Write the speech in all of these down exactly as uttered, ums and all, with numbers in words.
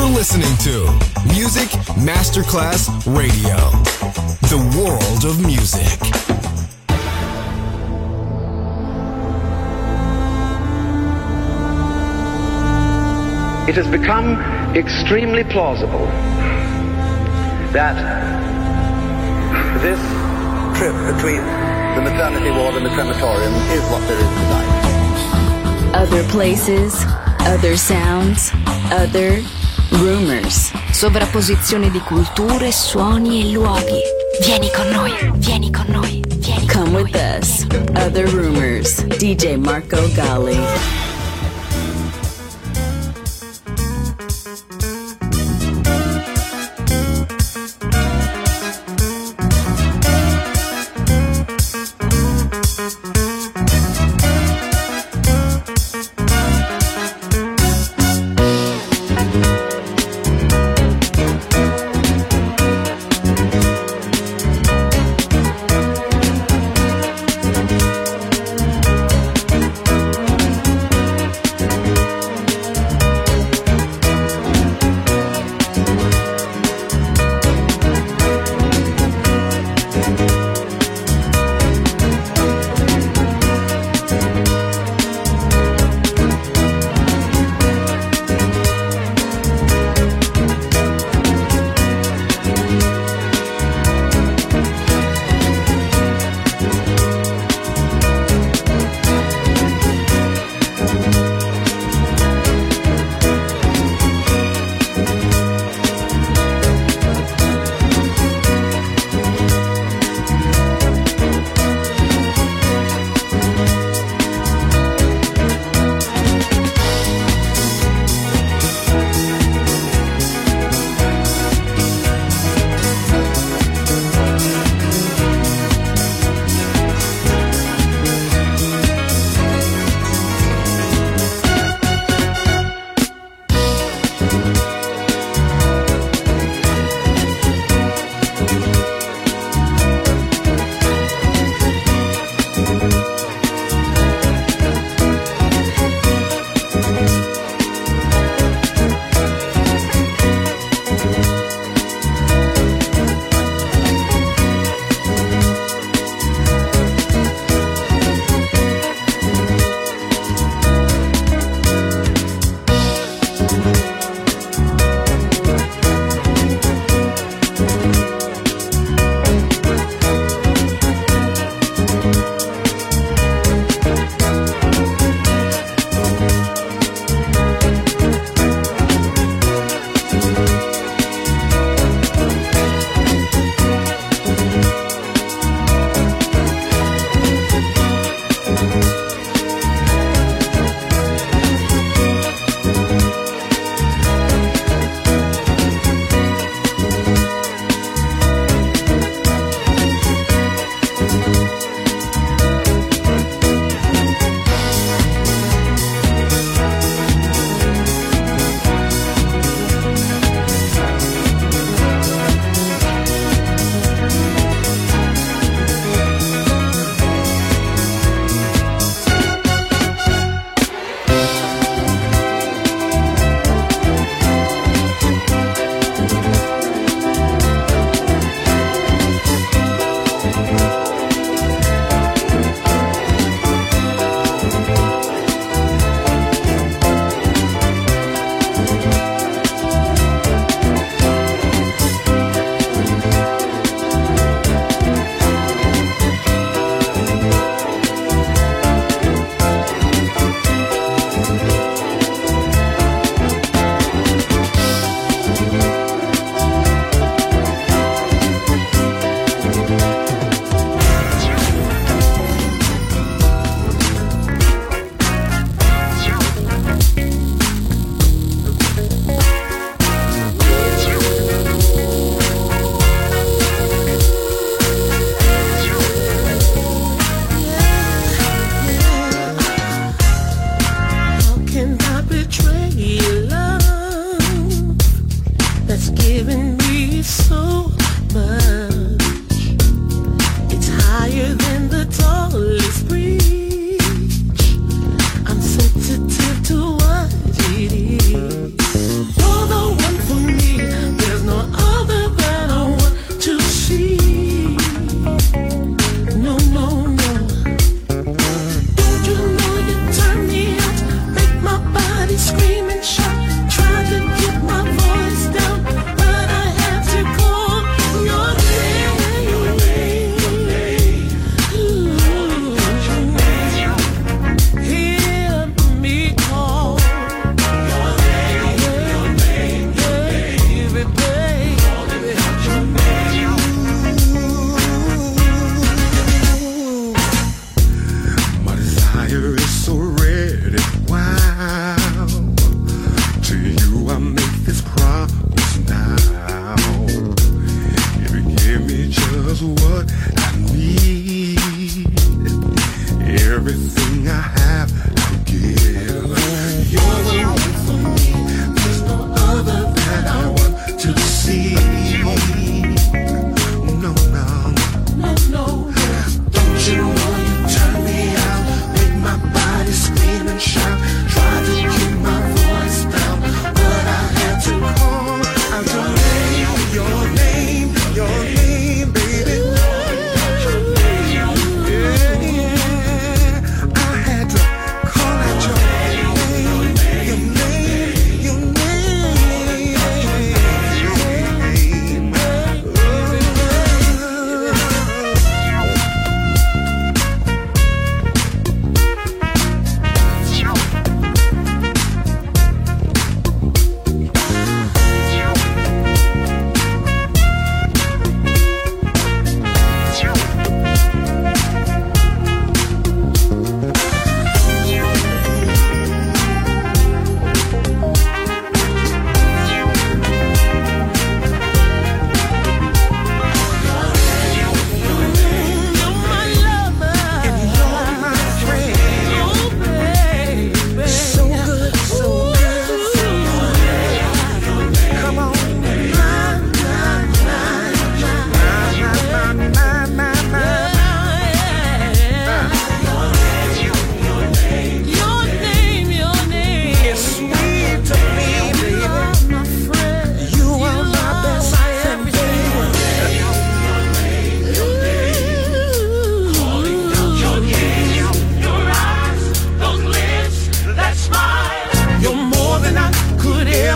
You're listening to Music Masterclass Radio, the world of music. It has become extremely plausible that this trip between the maternity ward and the crematorium is what there is tonight. Other places, other sounds, other rumors. Sovrapposizione di culture, suoni e luoghi. Vieni con noi, vieni con noi, vieni con Come noi. With us. Other Rumors. D J Marco Gally.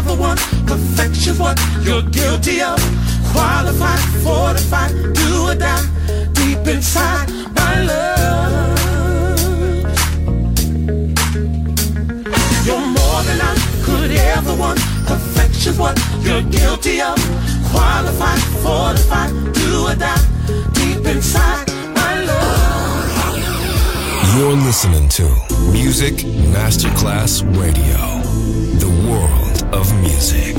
ever want. Perfection's what you're guilty of. Qualified, fortified, do or die. Deep inside, my love. You're more than I could ever want. Perfection's what you're guilty of. Qualified, fortified, do or die. Deep inside, my love. You're listening to Music Masterclass Radio. The world of music.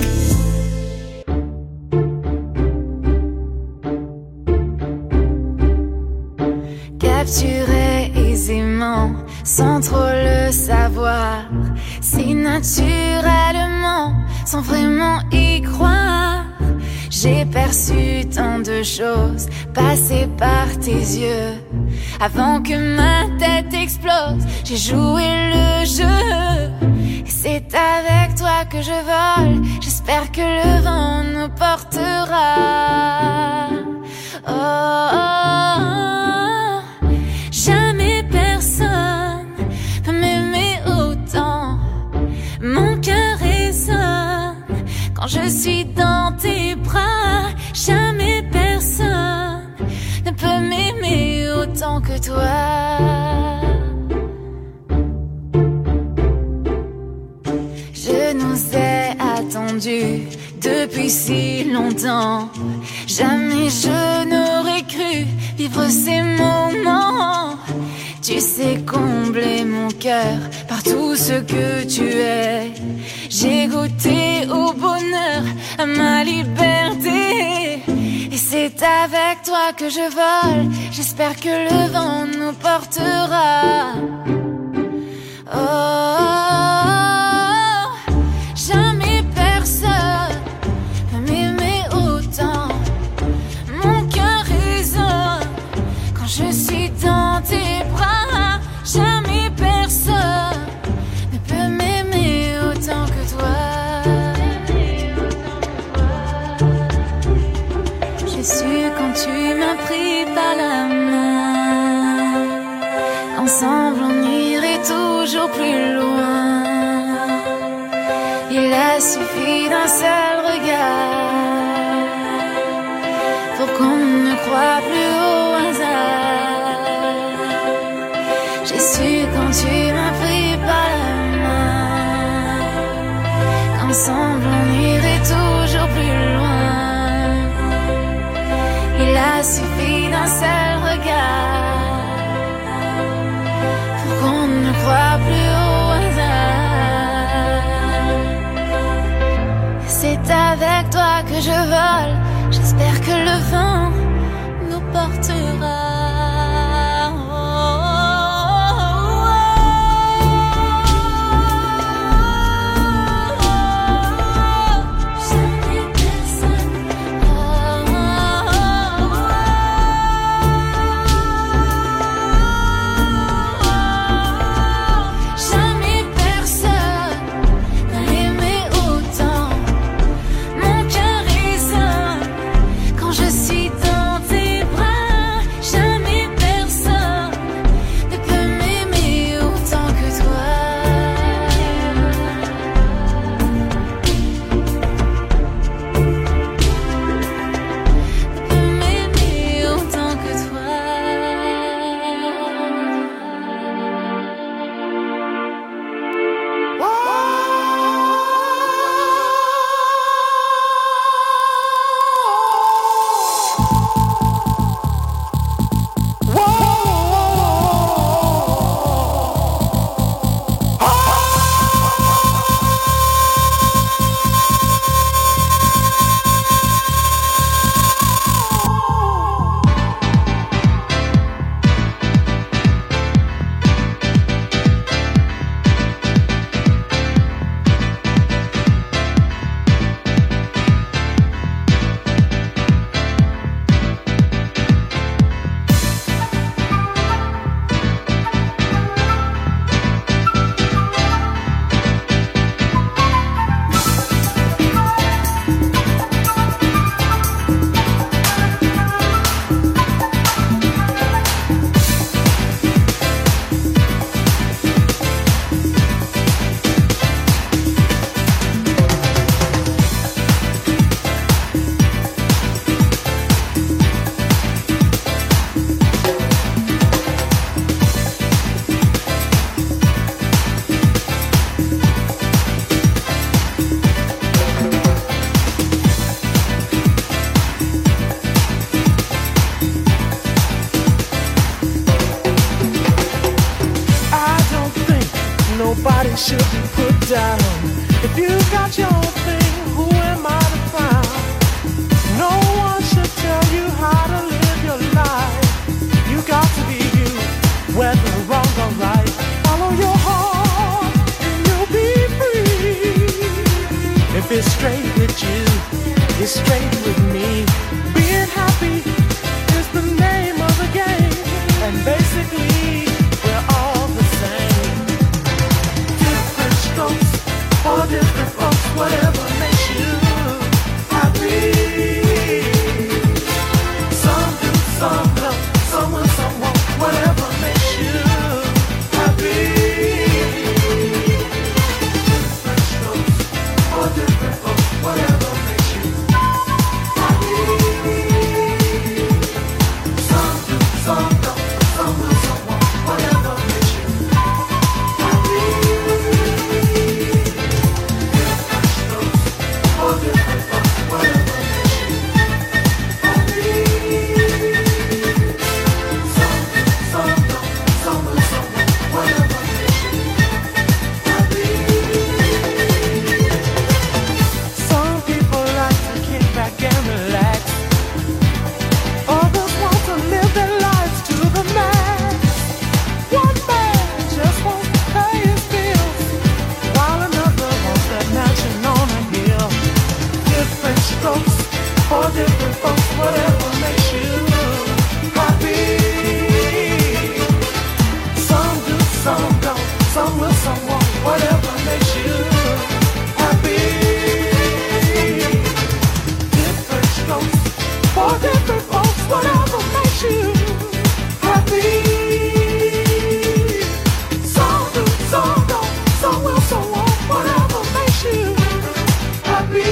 Capturé aisément, sans trop le savoir, si naturellement, sans vraiment y croire. J'ai perçu tant de choses passer par tes yeux. Avant que ma tête explose, j'ai joué le jeu. Et c'est avec toi que je vole. J'espère que le vent nous portera. Oh, oh, oh. Jamais personne peut m'aimer autant. Mon cœur résonne quand je suis dans tes bras. Jamais personne ne peut m'aimer autant que toi. Je nous ai attendus depuis si longtemps. Jamais je n'aurais cru vivre ces moments. Tu sais combler mon cœur par tout ce que tu es. J'ai goûté au bonheur, à ma liberté. Et c'est avec toi que je vole. J'espère que le vent nous portera. Oh, oh, oh. Jamais personne peut m'aimer autant. Mon cœur résonne quand je suis dans tes bras. Jamais personne ne peut m'aimer autant que toi. J'ai su quand tu m'as pris par la main, ensemble on irait toujours plus loin. Il a suffi d'un seul regard pour qu'on ne croie plus au hasard. J'ai su quand tu m'as pris par la main, qu'ensemble on irait toujours plus loin. Il a suffi d'un seul regard pour qu'on ne croie plus au hasard. C'est avec toi que je vole. J'espère que le vent nous portera. Je suis dans tes bras. should be put down. If you got your own thing, who am I to frown? No one should tell you how to live your life. You got to be you, whether wrong or right. Follow your heart and you'll be free. If it's straight with you, it's straight with me. Being happy is the name of the game, and basically we're all the same. Different strokes for different folks, whatever makes you happy. Some do, some don't, someone, someone, whatever makes you happy. Different strokes for different folks, whatever makes you happy. Some do, some don't, someone, someone, whatever makes you happy. Different strokes for different folks, whatever makes you happy. Some do, some don't, someone, someone, whatever makes you happy. Some people like to kick back and relax. Others want to live their lives to the max. One man just wants to pay his bills, while another wants that mansion on a hill. Different strokes for different folks, whatever makes you happy. Some do, some don't, some will, some won't, whatever makes you happy. Different strokes for different folks, whatever makes you happy. Some do, some don't, some will, some won't, whatever makes you happy.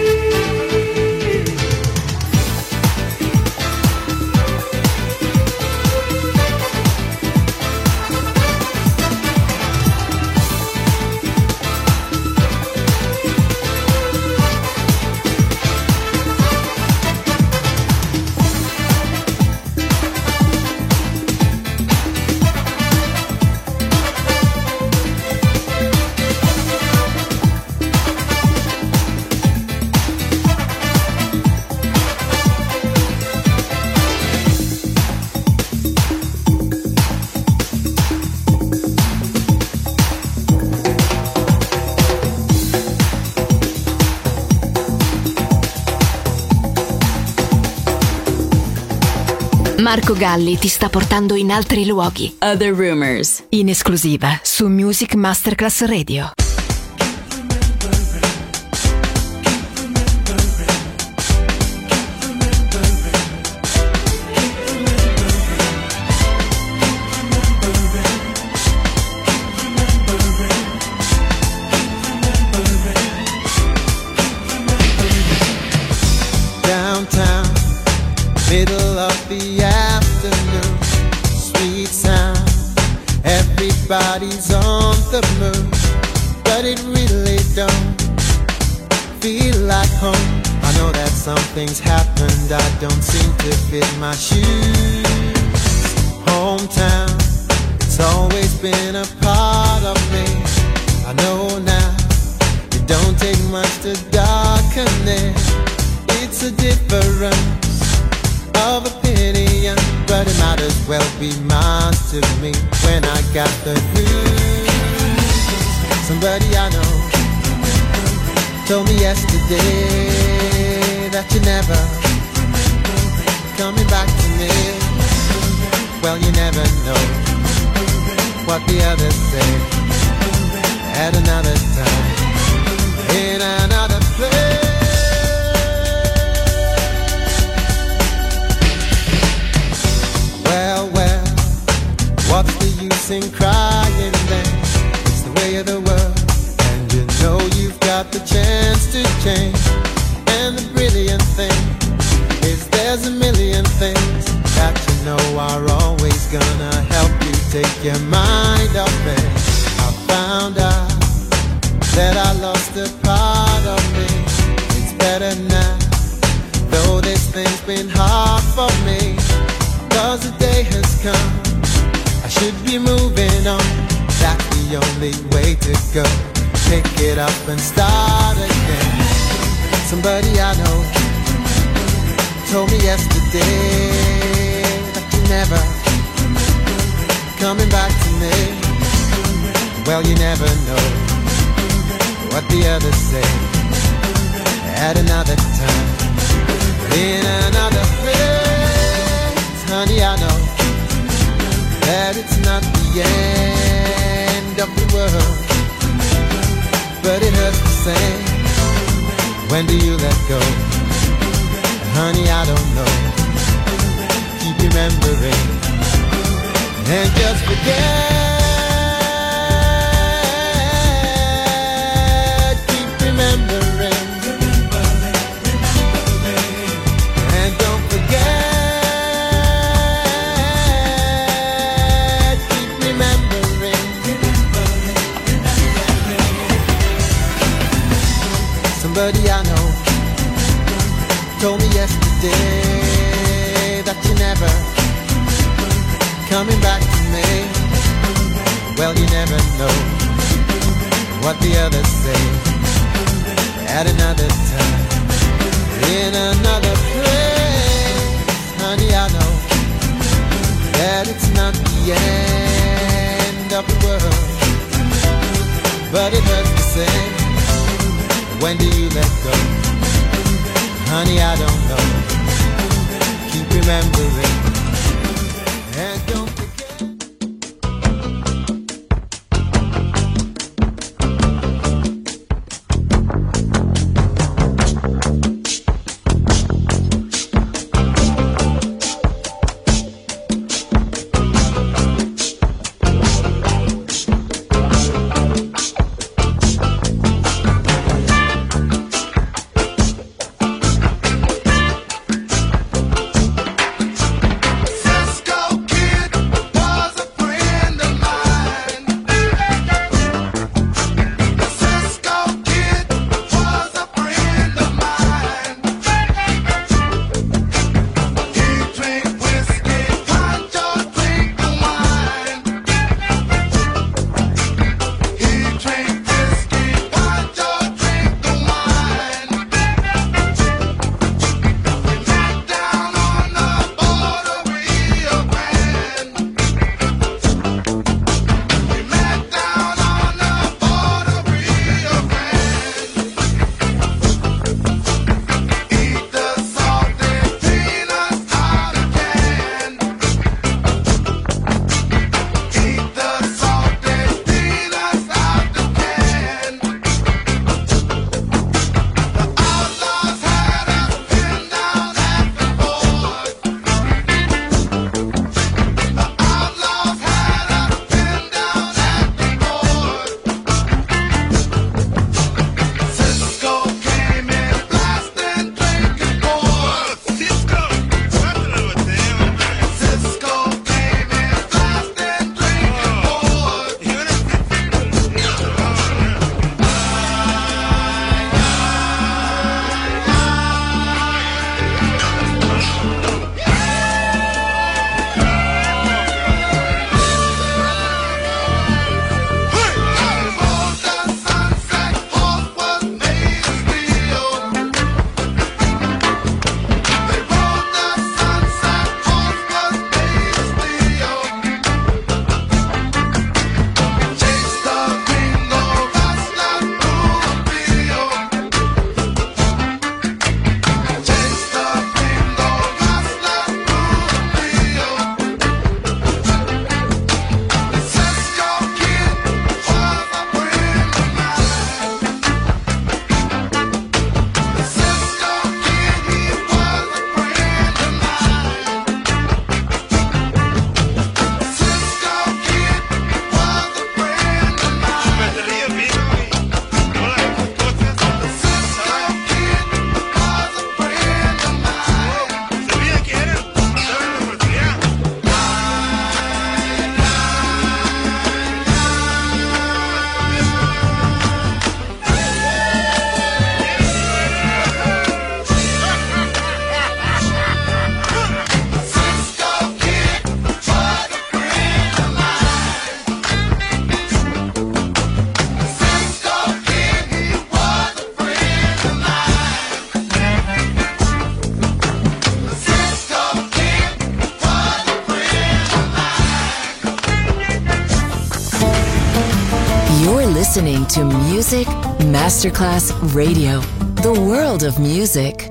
Marco Galli ti sta portando in altri luoghi. Other Rumors, in esclusiva su Music Masterclass Radio. Downtown, middle of the afternoon, sweet sound, everybody's on the move, but it really don't feel like home. I know that something's happened, I don't seem to fit my shoes. Hometown, it's always been a part of me. I know now, it don't take much to darken it. It's a difference of opinion, but it might as well be mine to me when I got the groove. Somebody I know told me yesterday that you're never coming back to me. Well, you never know what the others say at another time, in another place. Well, well, what's the use in crying then? It's the way of the world, and you know you've got the chance to change. And the brilliant thing is there's a million things that you know are always gonna help you take your mind off it. I found out that I lost a part of me. It's better now, though this thing's been hard for me. Cause the day has come, I should be moving on. That's the the only way to go. Pick it up and start again. Somebody I know told me yesterday that you're never coming back to me. Well, you never know what the others say. At another time, in another place, honey, I know that it's not the end of the world, but it hurts the same. When do you let go? Honey, I don't know. Keep remembering and just forget. Keep remembering and don't forget. Keep remembering. Somebody I know told me yesterday that you're never coming back to me. Well, you never know what the others say. At another time, in another place, honey, I know that it's not the end of the world, but it hurts the same. When do you let go? Honey, I don't know. Keep remembering and don't forget. Cisco Kid. to Music Masterclass Radio, the world of music.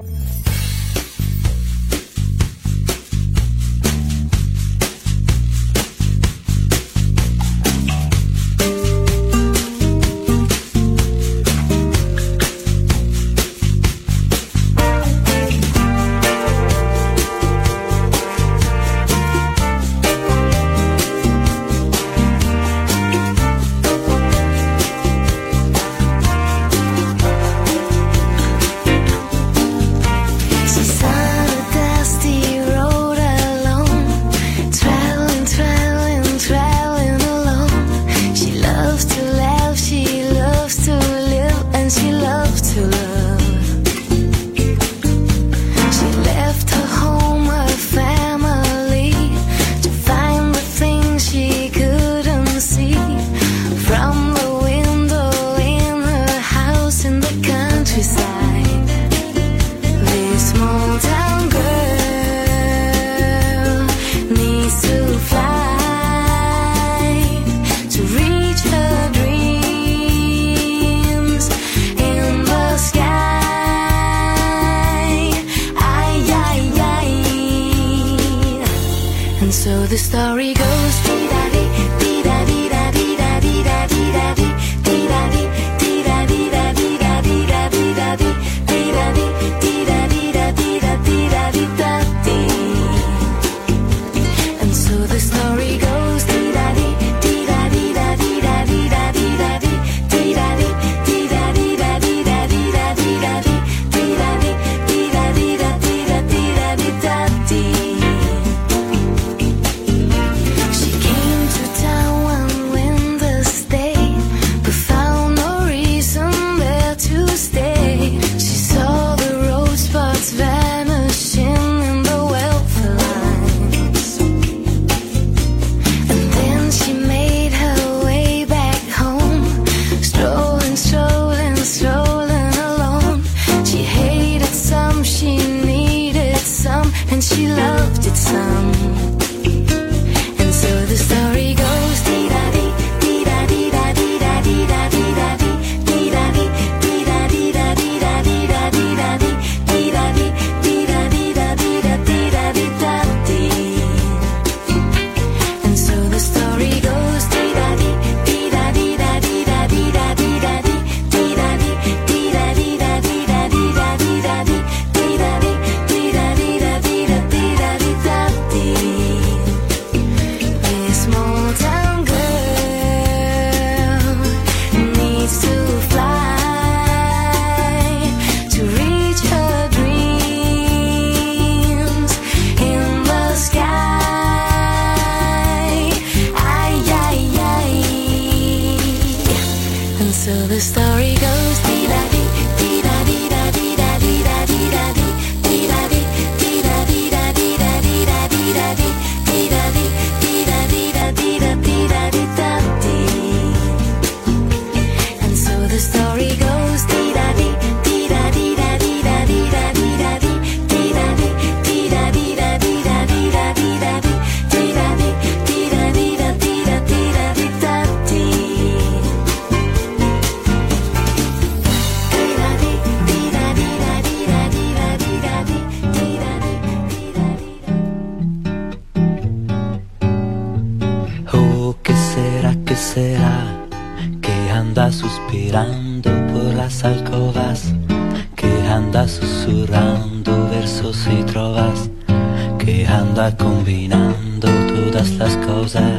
Suspirando por las alcovas, que anda susurrando versos y trovas, que anda combinando todas las cosas,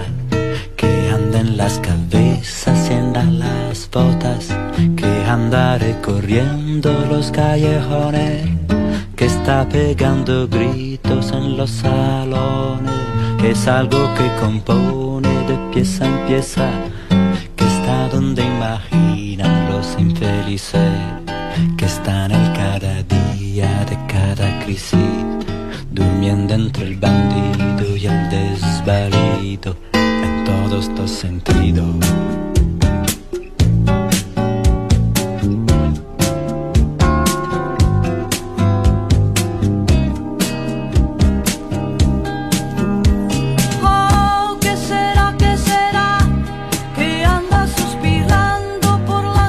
que anda en las cabezas y en las botas, que anda recorriendo los callejones, que está pegando gritos en los salones, que es algo que compone de pieza en pieza, donde imaginan los infelices que están en cada día de cada crisis, durmiendo entre el bandido y el desvalido en todos los sentidos. Oh, ¿qué será, qué será que anda suspirando por la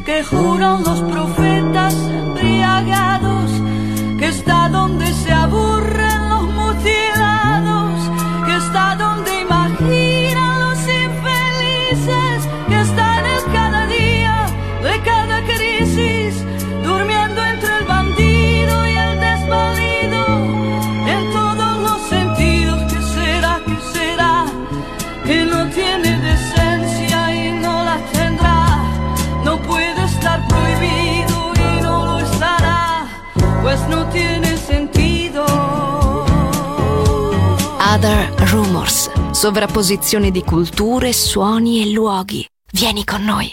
que juran los profetas embriagados, que está donde se aburren los mutilados, que está donde imaginan los infelices, que está en el cada día de cada crisis, durmiendo entre el bandido y el desvalido, en todos los sentidos. ¿Qué será, qué será? Que no tiene decencia y no la tendrá, no puede estar prohibido y no lo estará, pues no tiene sentido. Other Rumors, sovrapposizione di culture, suoni e luoghi. Vieni con noi.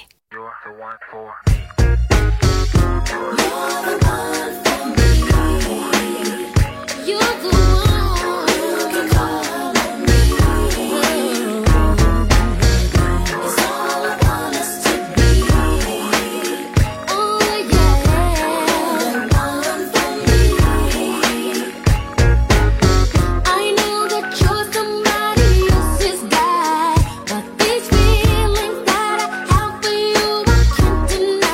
But these feelings that I have for you, I can't deny.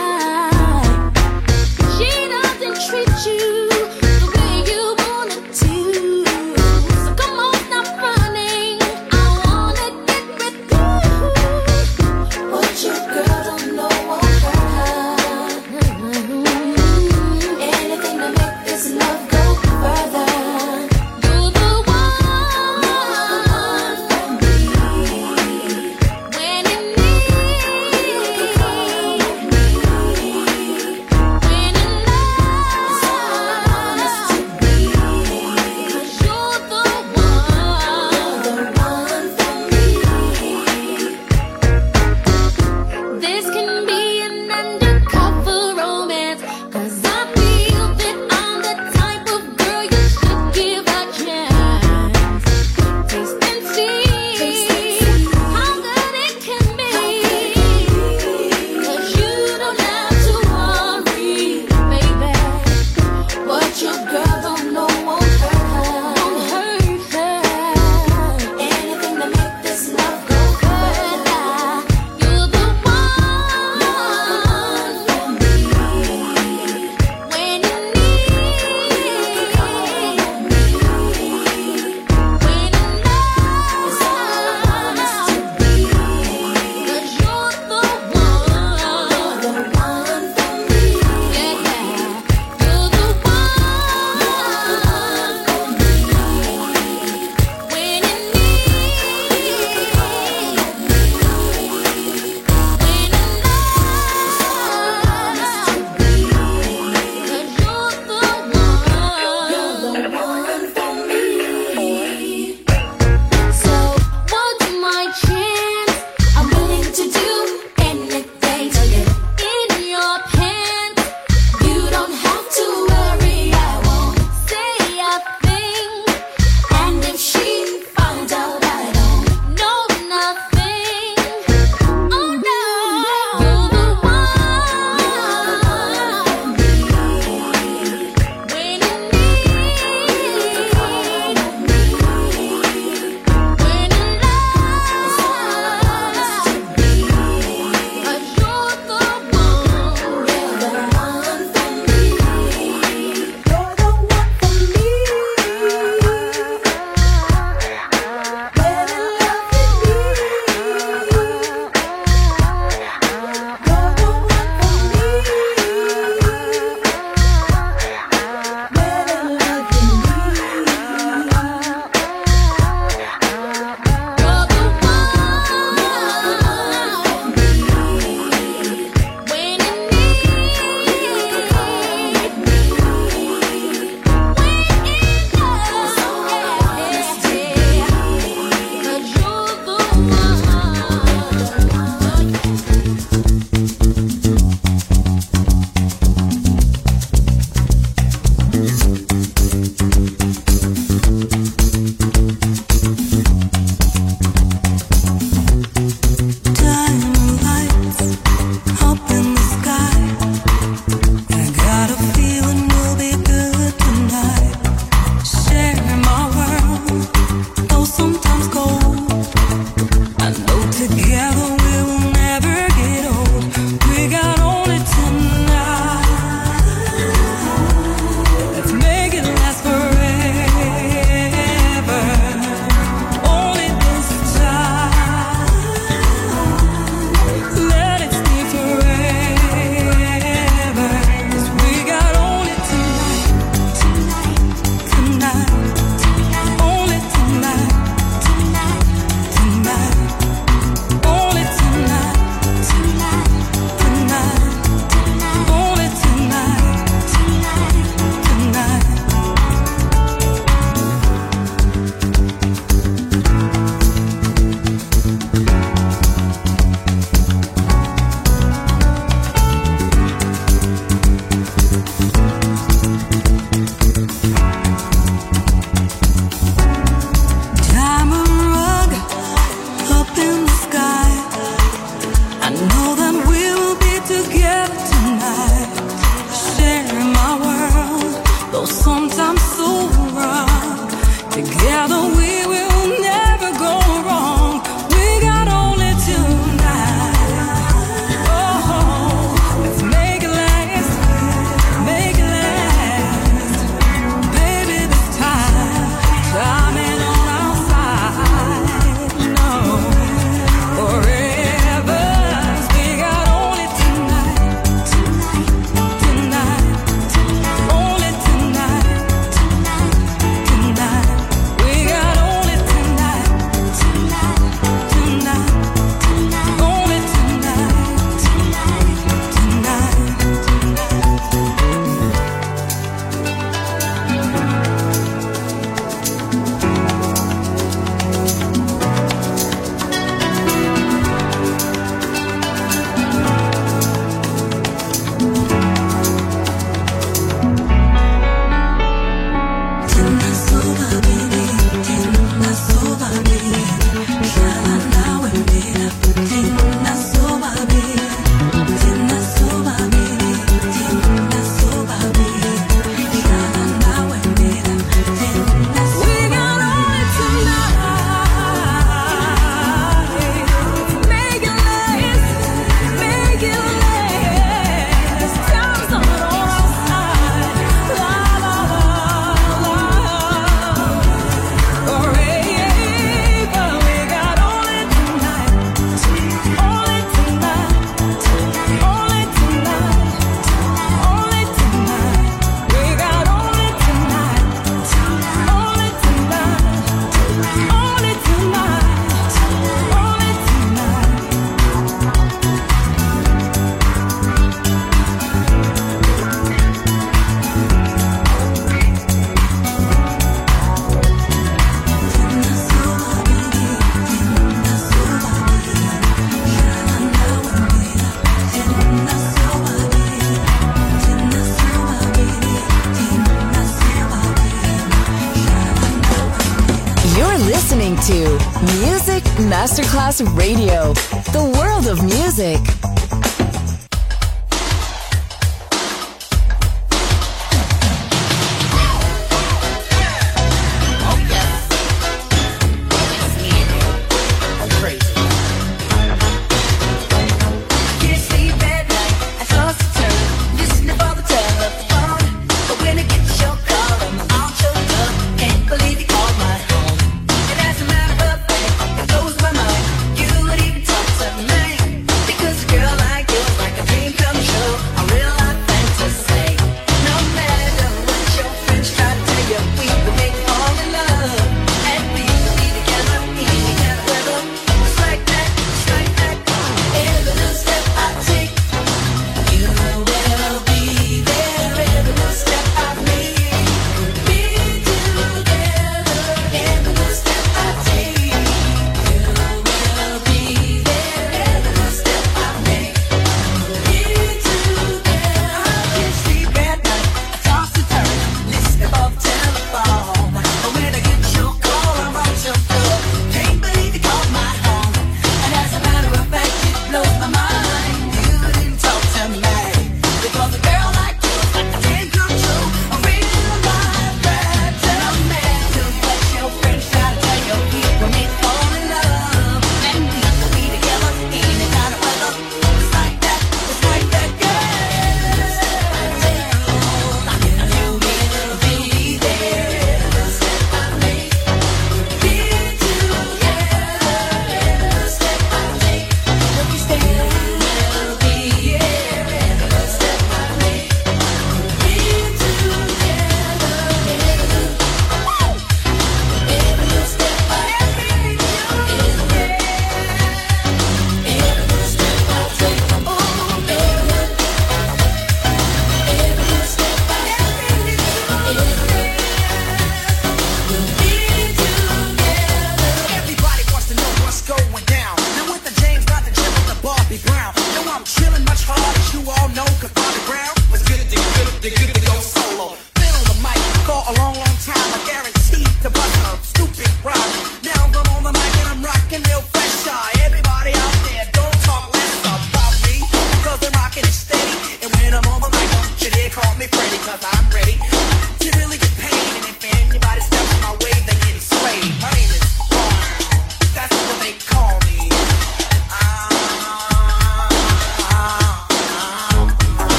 to Music Masterclass Radio, the world of music.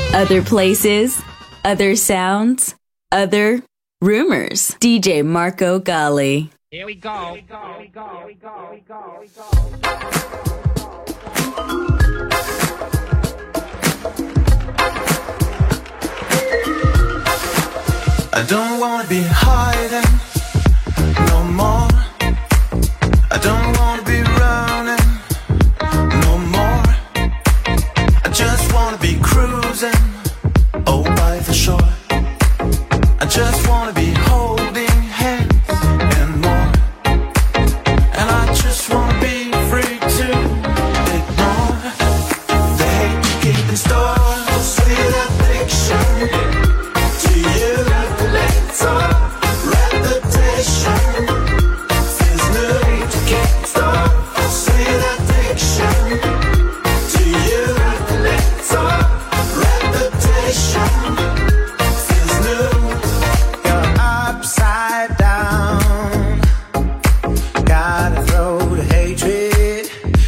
Other places, other sounds, other rumors. D J Marco Gally. Here we go. Here we go. Here we go. Here we go. Here we go. Here we go. I don't wanna be hiding no more. I don't wanna be running no more. I just wanna be cruising, oh, by the shore. I just wanna be holding hands and more. And I just wanna be free to ignore the hate you keep in store. Sweet addiction to you. Let's all reputation feels new to keep stop. Sweet addiction to you. Let's all reputation feels new. You're upside down. Gotta throw the hatred.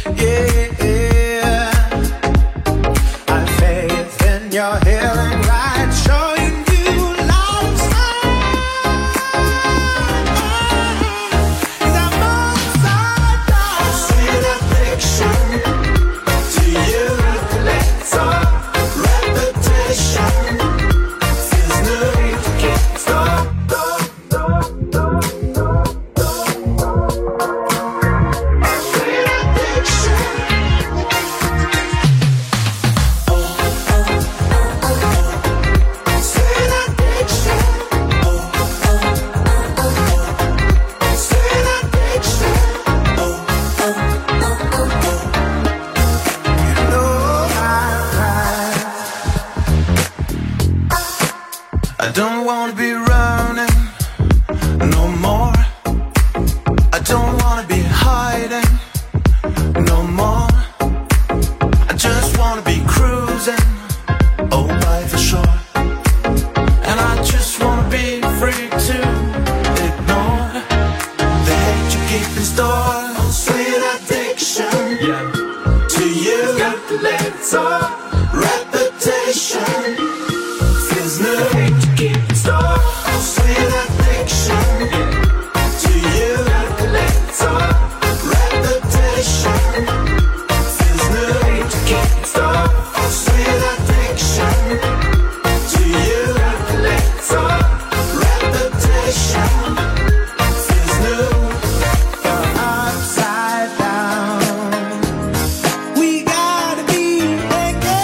Yeah. I have faith in your healing right. Showing you love. Cause I'm upside down. Sweet addiction to you. Let's all reputation feels new to keep stop. Sweet addiction. Oh, oh, oh, oh, oh. Sweet addiction. Oh, oh, oh, oh, oh. Sweet addiction. Oh, oh, oh, oh, oh. You know I, I don't wanna be running no more. I don't wanna be hiding no more. I just wanna be cruising, oh, by the shore. And I just wanna be free to ignore the hate you keep in store. Sweet addiction to you. Got to let it all reputation feels new. The hate you keep in store. Sweet addiction to you. Got to let it all reputation feels new. The hate you keep in store. Sweet addiction to you. Got to let it all reputation feels new. You're upside down. We gotta be naked.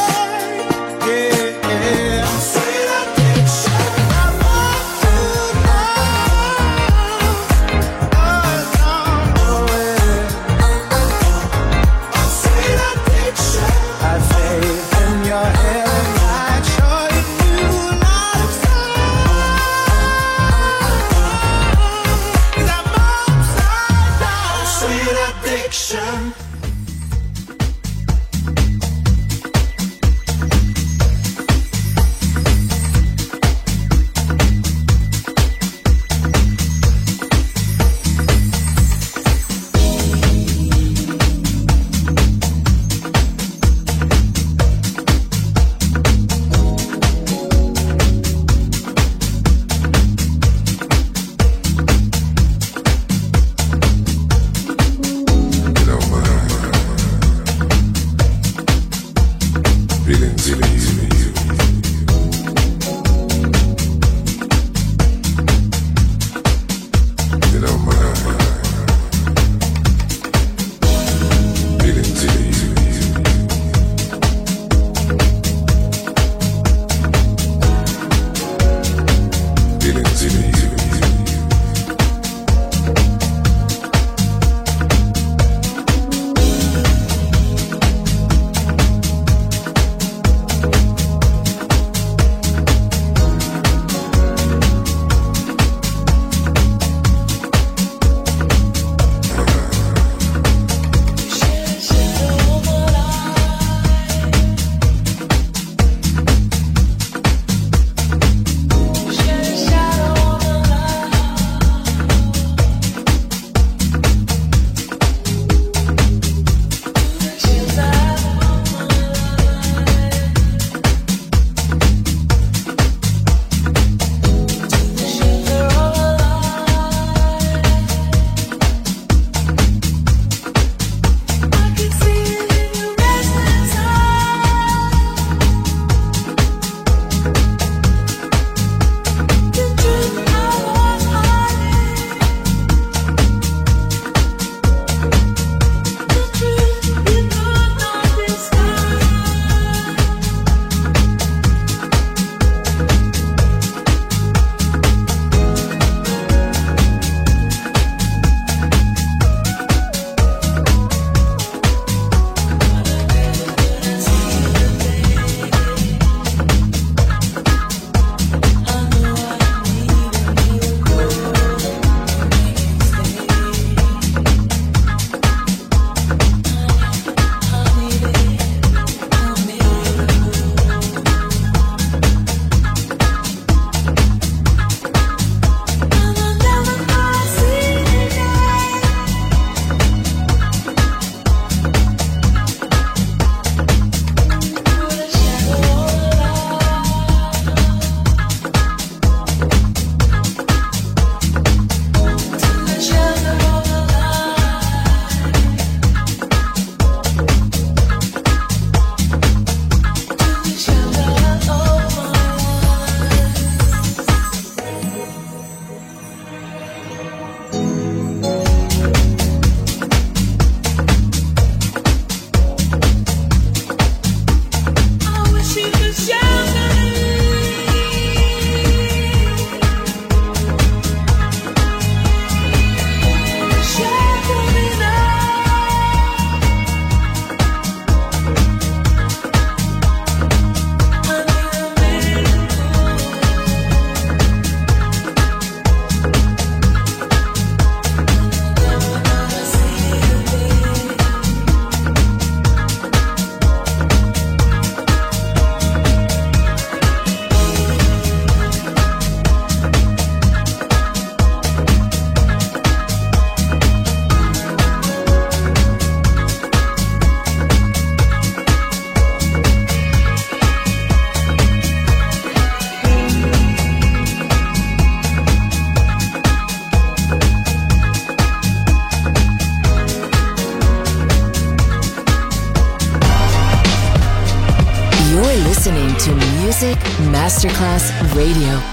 Masterclass Radio.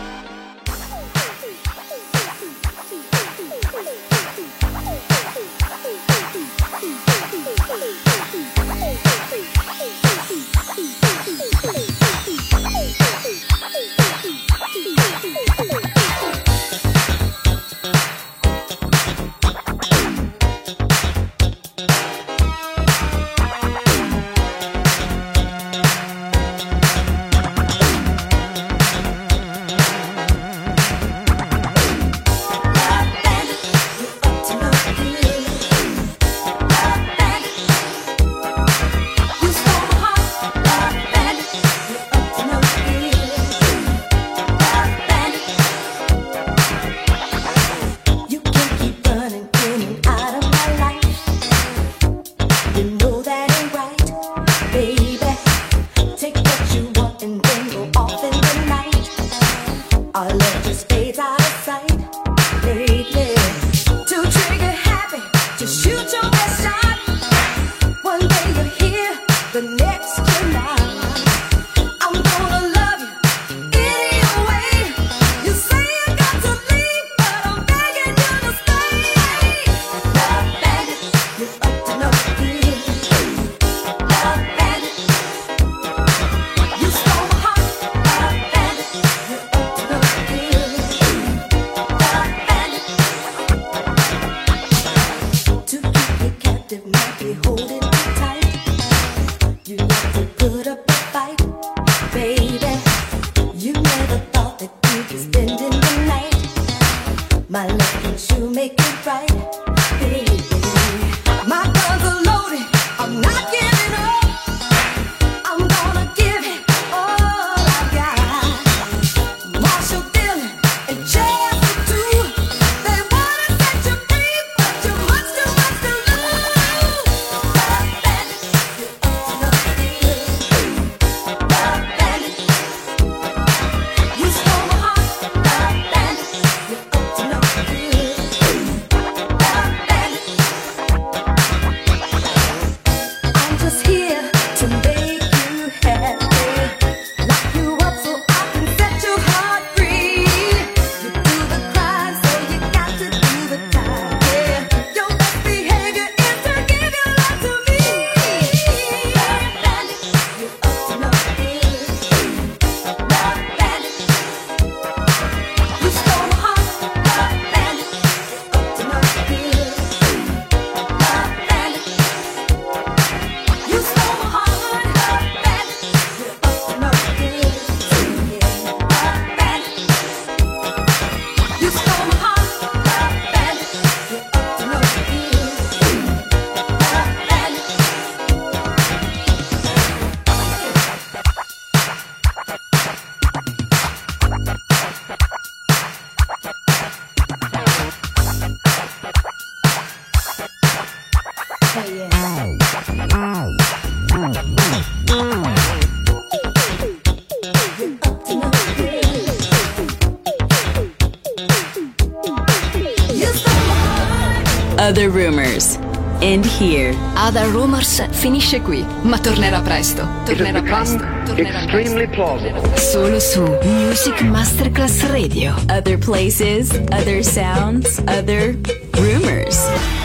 Other Rumors. End here. Other Rumors finisce qui, ma tornerà presto. Tornerà presto. Tornerà extremely plausible. Solo su Music Masterclass Radio. Other places, other sounds, other rumors.